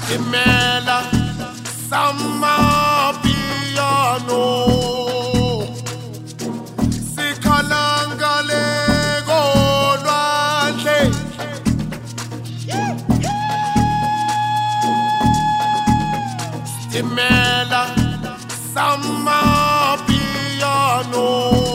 Imela sama piano sikhalangale kolwandle Imela sama piano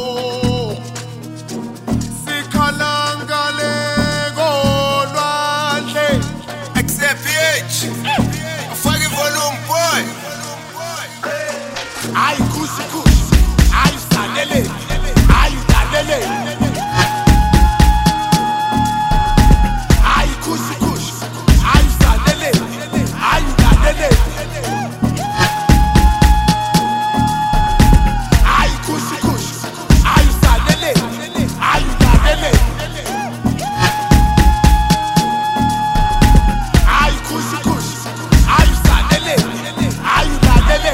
sikhalangale kolwandle XFPH fucking volume boy Ay kushi kushi ay sanele ay danele Ay kushi kushi ay sanele ay danele Ay kushi kushi ay sanele ay danele Ay kushi kushi ay sanele ay danele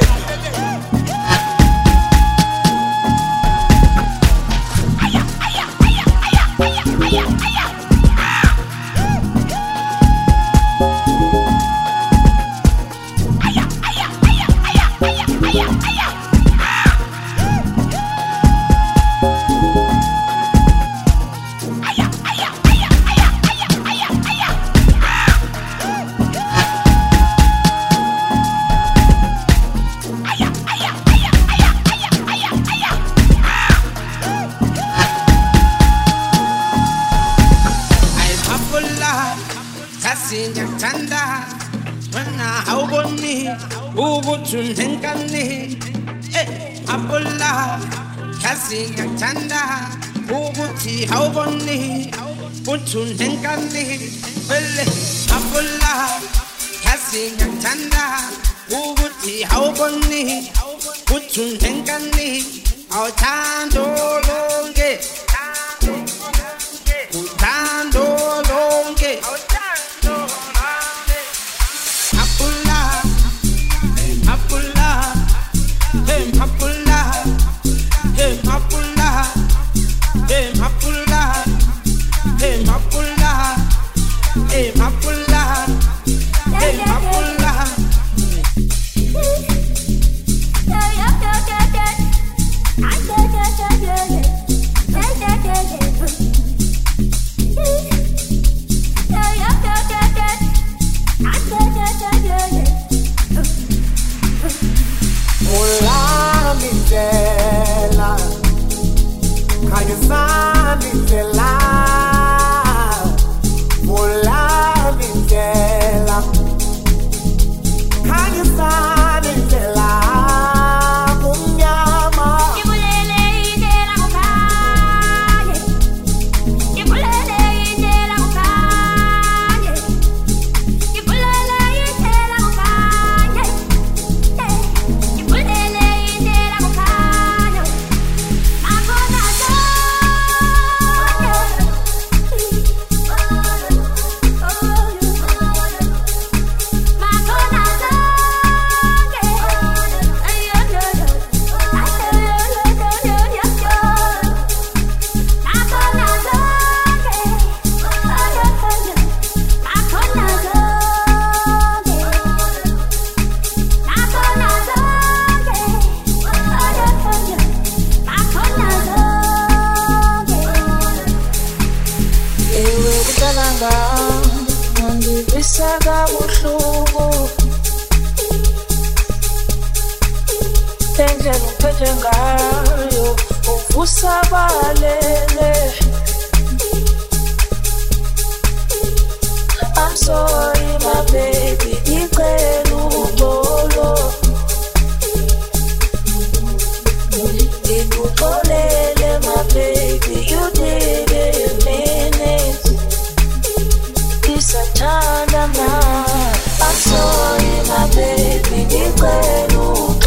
Tanda wana awboni ubutun henkani abulla kasi tanda ubuti awboni ubutun henkani belle abulla kasi tanda ubuti awboni ubutun henkani awtando longe utando longe I'm sorry, my baby, my baby, you did it in minutes. It's a time now. I'm sorry, my baby,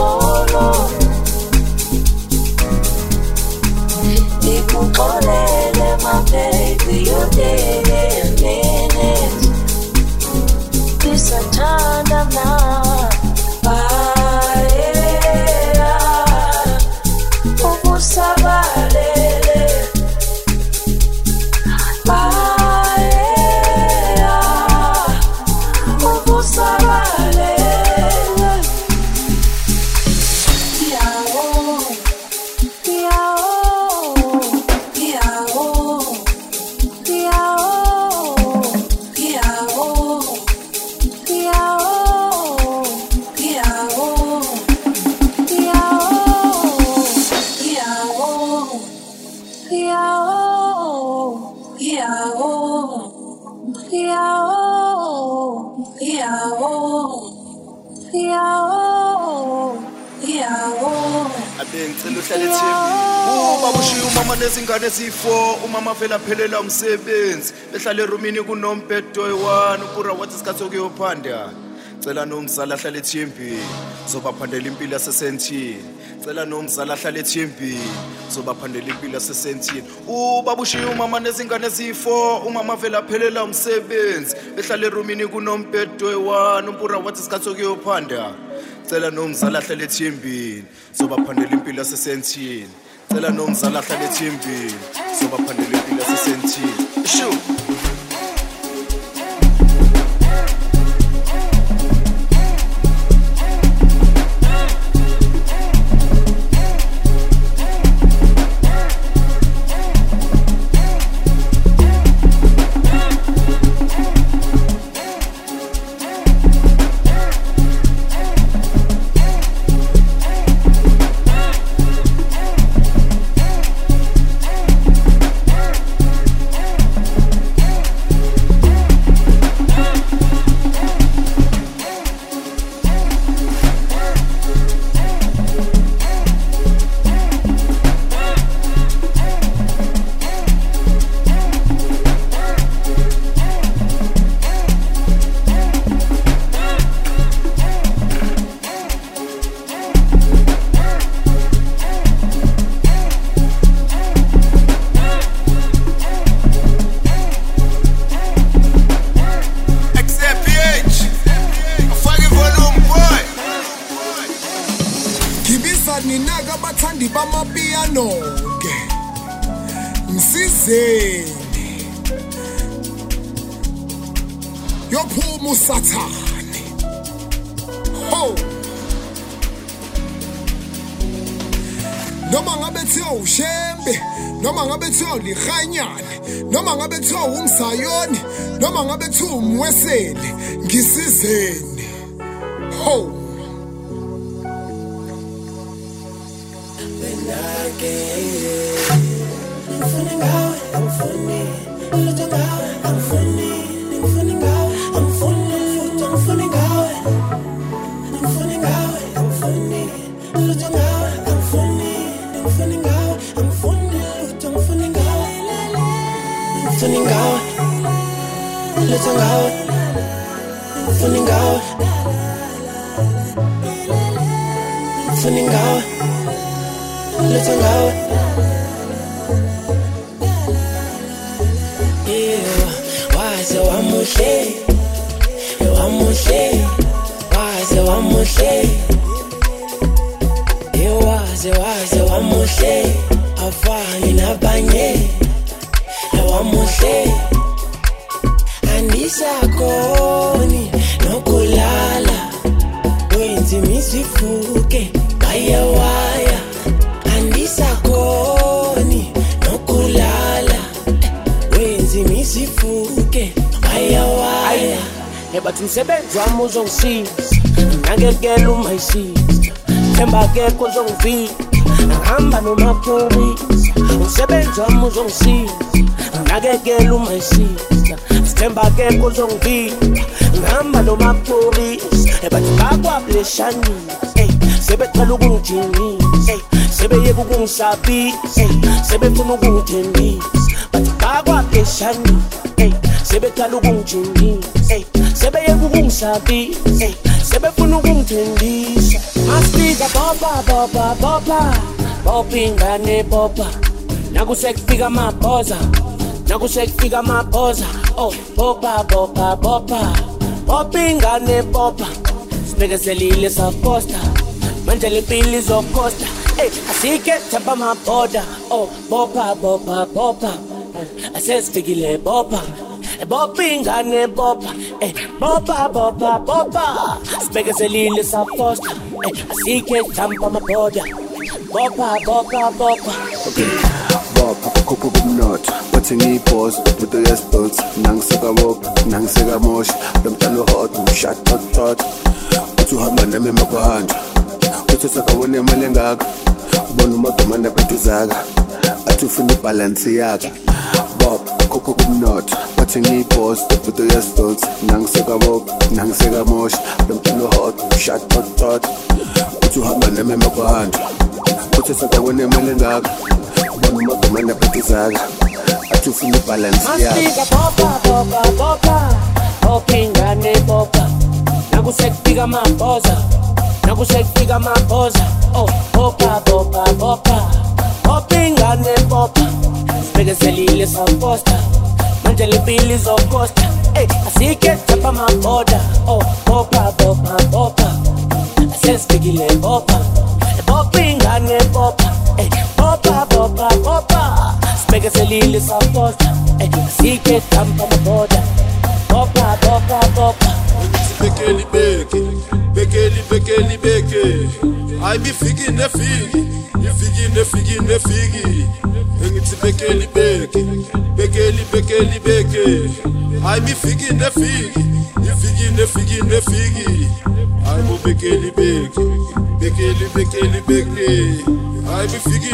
Nicolele. abengicela uhlale ethembeni babushiya umama nezingane ezifo umama vela phelela umsebenzi behlala erumini kunombhedo oyi-1 upura wathi isikhathi sokuyophanda cela nomzala ahlale ethembeni zobaphandela impilo yasesentini cela nomzala ahlale ethembeni zobaphandela impilo yasesentini babushiya umama nezingane ezifo umama vela phelela umsebenzi behlala erumini kunombhedo oyi-1 upura wathi isikhathi sokuyophanda cela nomzala ahlale ethembeni zobaphandela impilo yasesentini cela nomzala ahlale ethembeni zobaphandela impilo yasesentini shu Ninaga bathandi bamapiano ke msizeni yophuma usathane ho noma ngabe thiwa ushembe noma ngabe thiwa ulihanyane noma ngabe thiwa umsayoni noma ngabe thiwa umweseli ngisizeni ho afani nabanye ewamuhle andisakoni nokulala wenzi misifuke bayewaya andisakoni nokulala wenzi misifuke bayewaya ebathi umsebenzi wami uzongisiza nangekela umayisiza themba akekho ozongivika ngihamba nomaphorisa umsebenzi wami uzongisiza nangekela umayisiza themba akekho ozongivika ngihamba nomaphorisa ebathi bakwableshanisa sebecela ukungijinisa sebeyeka ukungisabisa sebefuna ukungithembisa bathi bakwableshanisa sebecela ukungijinisa sebeyeka ukungisabisa sebefuna ukungithembisa masifika boba boba boba boba ingane boba nakusekufika amabhoza nakusekufika amabhoza oh boba boba boba boba ingane boba sibekezelile saposta manje lempilo izokosta asike themba amabhoda oh boba boba boba asesifikile boba boba ingane boba boba boba boba sibekezelile saposta asike themba amabhoda boba boba boba Bob, kuku kumnotho bathi ngiyiphoza with the response nangiseka bob nangiseka moshi lomntana hot shot hot uthi uhamba nami emakuhanja uthi sakabona imali engaka ubona umadamana bethu zaka athi ufuna ibalance yaka Bob abakhokho kumnotho bathi ngiyibhosi ivuto yesdot nangisekabopha nangisekamosha lo mculo hot shot tot uthi uhamba nami emakuhanjwa uthi sakawena imali engaka ubona umagama naphethe athi ufuna ibalance masika bopa ingane bopa nakusekufika amabhoza oh bopa ingane bopa sibekezelile saposta manje lipili zokosta asike jump amaboda oh bopa asesifikile bopa ingane bopa bopa sibekezelile saposta asike jump amaboda bopa Bekeli I be figi nefigi Engithi bekeli I be figi nefigi I mo bekeli I be figi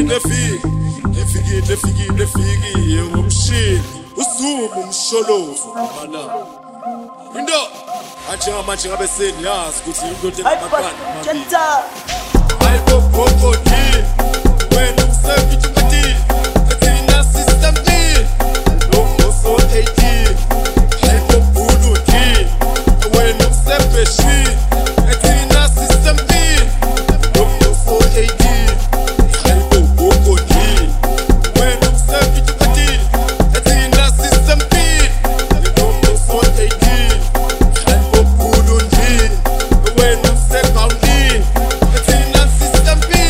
nefigi Yengomshini usumu umsholofu mana Indo Anjenga manje ngabe sengiyazi ukuthi into Jenta Hayibo bokoti wena usefithi ukuthi athina system ni lo so 18 hayibo buluti wena usepeshi athina system ni lo so 18 hayibo bokoti wena usefithi ukuthi athina system ni lo so 18 hayibo buluti wena useqawuni athina system ni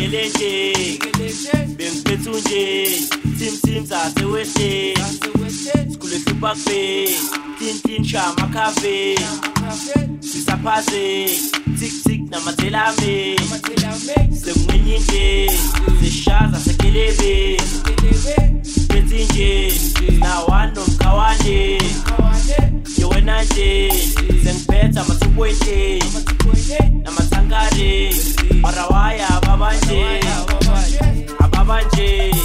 Ngikelele bengiphethe nje Tim zaseweshe Skule hlupakbe Tin shama cafe Sisaphaze Tik namathelame Sekumenyinde Zishaza sekelebe Bethinje Nawano mkawane Yewena nje Sengiphetha mathupwete Namathangare Marawaya ababanje Ababanje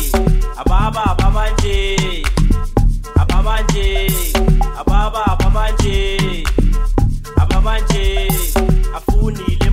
Ababa ababanje Afuni